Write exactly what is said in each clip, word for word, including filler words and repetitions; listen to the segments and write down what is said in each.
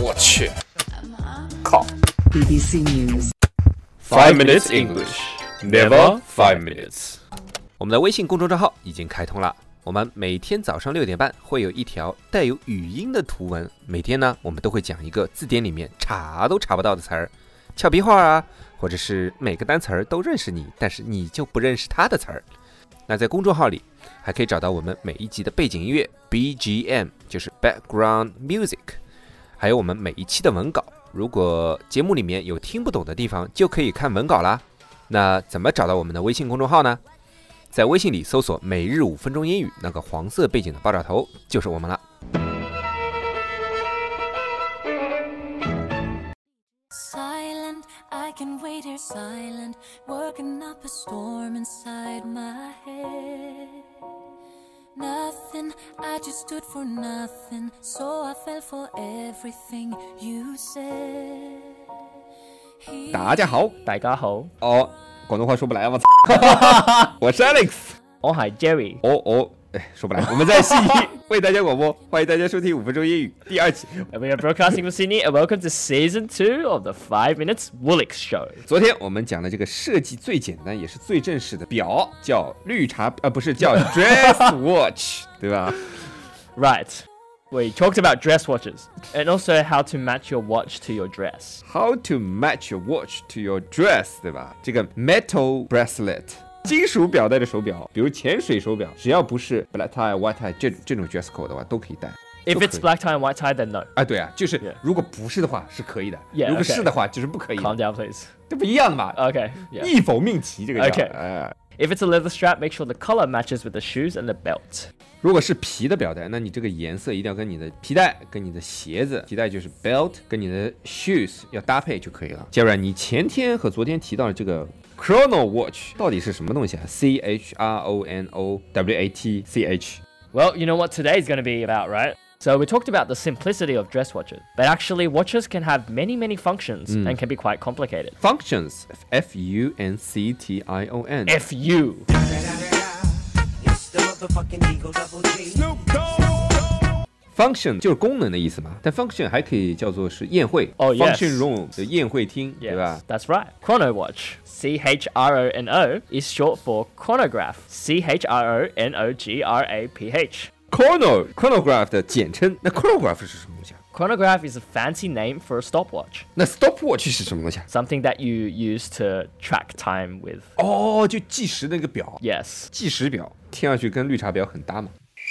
我去，靠 B B C News ！Five minutes English, never five minutes。 我们的微信公众账号已经开通了，我们每天早上六点半会有一条带有语音的图文，每天呢我们都会讲一个字典里面查都查不到的词儿，俏皮话啊，或者是每个单词儿都认识你，但是你就不认识它的词儿。那在公众号里还可以找到我们每一集的背景音乐 B G M， 就是 Background Music， 还有我们每一期的文稿。如果节目里面有听不懂的地方，就可以看文稿啦。那怎么找到我们的微信公众号呢？在微信里搜索每日五分钟英语，那个黄色背景的爆炸头就是我们了。 Silent, I can wait here silent, working up a storm inside my head. Nothing, I just stood for nothing, so I fell for everything you said. 大家好， 大家好， 哦，广东话说不来，我操！我是 Alex， 我係 Jerry。 哦哦，哎，说不来，我们在悉尼为大家广播，欢迎大家收听五分钟英语第二期。 And we are broadcasting from Sydney, and welcome to Season Two of the Five Minutes Woolix Show. 昨天我们讲的这个设计最简单也是最正式的表，叫绿茶，呃，不是叫 dress watch， 对吧 Right. We talked about dress watches, and also how to match your watch to your dress. ？How to match your watch to your dress， 对吧？这个 metal bracelet。金属表带的手表，比如潜水手表，只要不是 black tie、white tie 这这种 dress code 的话，都可以戴。 If it's black tie and white tie, then no. 啊，对啊，就是 Yeah. 如果不是的话是可以的， Yeah, 如果 okay. 是的话就是不可以的。 Calm down, please. 这不一样的嘛？ Okay. Yeah. 一否命题，这个叫。 Okay. 哎 If it's a leather strap, make sure the color matches with the shoes and the belt. 如果是皮的表带，那你这个颜色一定要跟你的皮带、跟你的鞋子，皮带就是 belt， 跟你的 shoes 要搭配就可以了。杰瑞，你前天和昨天提到的这个 chrono watch 到底是什么东西啊 ？C H R O N O W A T C H。 Well, you know what today is going to be about, right? So we talked about the simplicity of dress watches, but actually watches can have many, many functions and can be quite complicated. Functions F U N C T I O N F U. Function 就是功能的意思嘛，但 function 还可以叫做是宴会。 Oh, yes. Function room 的宴会厅， Yes, 对吧？ that's right. Chrono watch. C H R O N O is short for chronograph. C H R O N O G R A P H. Chrono chronograph 的简称。那 chronograph 是什么东西啊？ Chronograph is a fancy name for a stopwatch. 那 stopwatch 是什么东西啊？ Something that you use to track time with. 哦，就计时的那个表， Yes. 计时表，听上去跟绿茶婊很搭嘛。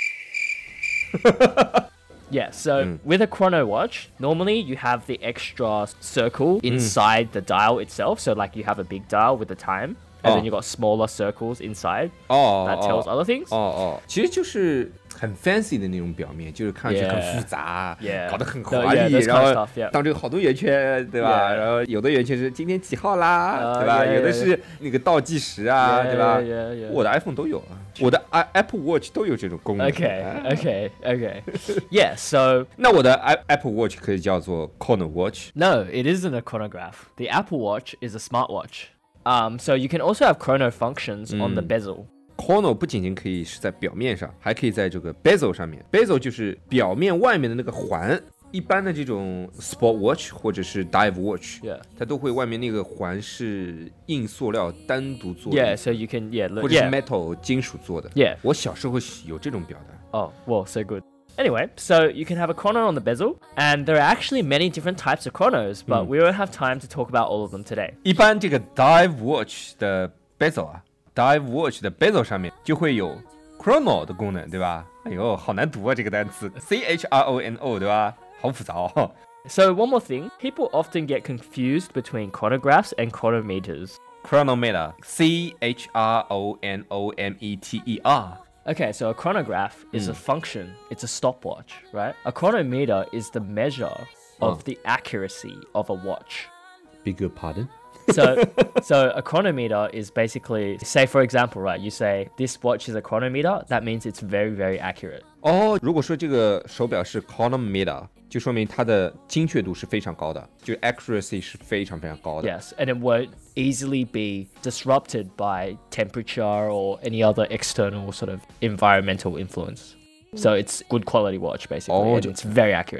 Yeah, so with a chrono watch, normally you have the extra circle inside the dial itself. So like you have a big dial with the time, and Oh. then you've got smaller circles inside 哦 that 哦 tells other things. 哦哦，其实就是很 fancy 的那种表面，就是看上去很 Yeah. 复杂 Yeah. 搞得很 No, 华 yeah, 丽， those kind 然 of 后 stuff, yeah. 当中有好多圆圈，对吧？ Yeah. 然后有的圆圈是今天几号啦， Uh, 对吧？ yeah, 有的 yeah, 是那个倒计时啊， Yeah, 对吧 yeah, yeah, yeah. 我的 iPhone 都有啊，我的 i Apple Watch 都有这种功能。 Okay, 哎 okay, okay. Yeah, so 那我的 i Apple Watch 可以叫做 Chrono Watch。 no, it isn't a chronograph. The Apple Watch is a smartwatch. Um, so you can also have chrono functions on the bezel. Chrono 不仅仅可以是在表面上，还可以在这个 bezel 上面。bezel 就是表面外面的那个环。一般的这种 sport watch 或者是 dive watch， Yeah. 它都会外面那个环是硬塑料单独做的， Yeah, so you can, yeah, 或 look, 者是 yeah. metal 金属做的。 Yeah. 我小时候有这种表的。 Oh, well, so good. Anyway, so you can have a chrono on the bezel, and there are actually many different types of chronos, but we won't have time to talk about all of them today. 一般这个 dive watch 的 bezel 啊 ，dive watch 的 bezel 上面就会有 chrono 的功能，对吧？哎呦，好难读啊这个单词 ，C H R O N O， 对吧？好复杂哦。 So one more thing, people often get confused between chronographs and chronometers. Chronometer, C H R O N O M E T E R. Okay, so a chronograph is a function, it's a stopwatch, right? A chronometer is the measure of the accuracy of a watch. Beg your pardon? So, so a chronometer is basically, say for example, right, you say this watch is a chronometer, that means it's very, very accurate. 哦，如果说这个手表是 chronometer， 就说明它的精确度是非常高的，就 accuracy 是非常非常高的。 Yes, and it won't easily be disrupted by temperature or any other external sort of environmental influence. So it's good quality watch basically, Oh, and it's very accurate.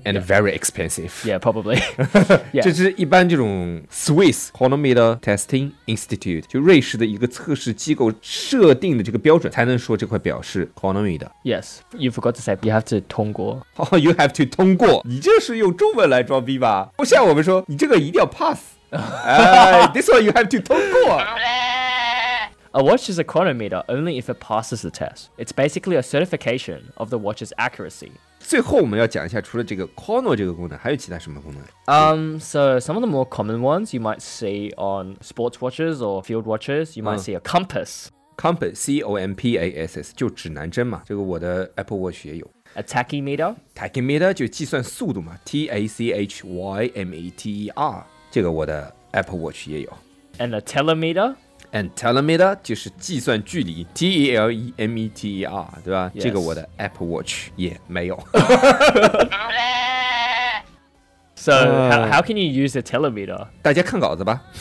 and very expensive. Yeah, probably. 这 yeah. 是一般这种 Swiss Chronometer Testing Institute 就瑞士的一个测试机构设定的这个标准，才能说这块表是 chronometer。 Yes, you forgot to say you have to 通过。 Oh, you have to 通过，你这是用中文来装逼吧？不像我们说你这个一定要 pass。 哎 this one you have to 通过。 A watch is a chronometer only if it passes the test. It's basically a certification of the watch's accuracy. 最后我们要讲一下，除了这个 chrono 这个功能，还有其他什么功能？ Um, so some of the more common ones you might see on sports watches or field watches. You might see a compass, Compass, C O M P A S S 就指南针嘛，这个我的 Apple Watch 也有。 a tachymeter, Tachymeter 就计算速度嘛 ，T A C H Y M E T E R 这个我的 Apple Watch 也有。 and a telemeter. And telemeter 就是计算距离 ，T E L E M E T E R 对吧？ Yes. 这个我的 Apple Watch 也没有。 So how, how can you use a telemeter? 大家看稿子吧。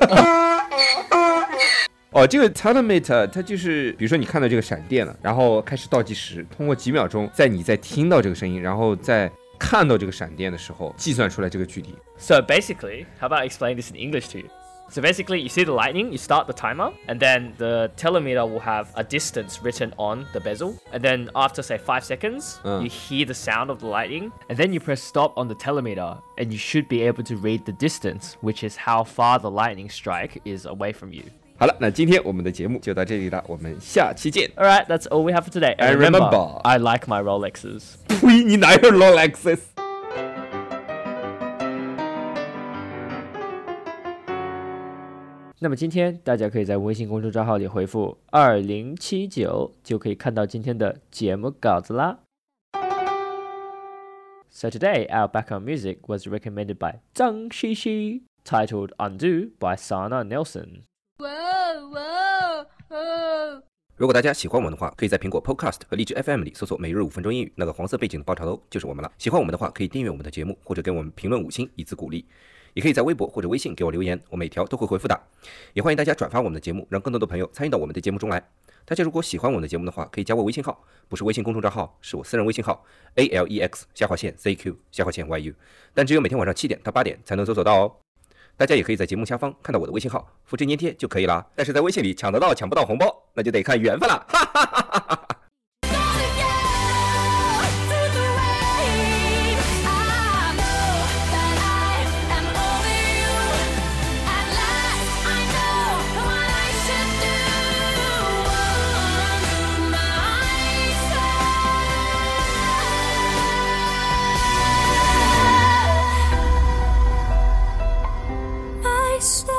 哦，这个 telemeter 它就是，比如说你看到这个闪电了，然后开始倒计时，通过几秒钟，在你在听到这个声音，然后在看到这个闪电的时候，计算出来这个距离。 So basically, how about I explain this in English to you? So basically, you see the lightning, you start the timer, and then the telemeter will have a distance written on the bezel. And then after, say, five seconds, Uh. you hear the sound of the lightning, and then you press stop on the telemeter, and you should be able to read the distance, which is how far the lightning strike is away from you. 好了，那今天我们的节目就到这里了，我们下期见。 All right, that's all we have for today. And remember- I like my Rolexes. 呸！你哪有 Rolexes？ 那么今天大家可以在微信公众账号里回复二零七九，就可以看到今天的节目稿子啦。So today, our background music was recommended by 张西西, titled Undo by Sana Nelson. Whoa, whoa, whoa. 如果大家喜欢我们的话，可以在苹果 Podcast 和荔枝 F M 里搜索每日五分钟英语，那个黄色背景的爆炒头就是我们了。喜欢我们的话，可以订阅我们的节目，或者给我们评论五星以资鼓励。也可以在微博或者微信给我留言，我每条都会回复的。也欢迎大家转发我们的节目，让更多的朋友参与到我们的节目中来。大家如果喜欢我们的节目的话，可以加我微信号，不是微信公众账号，是我私人微信号 A L E X 下划线 Z Q 下划线 Y U， 但只有每天晚上七点到八点才能搜索到哦。大家也可以在节目下方看到我的微信号，复制粘贴就可以啦。但是在微信里抢得到抢不到红包，那就得看缘分了。哈哈哈哈哈。 I stay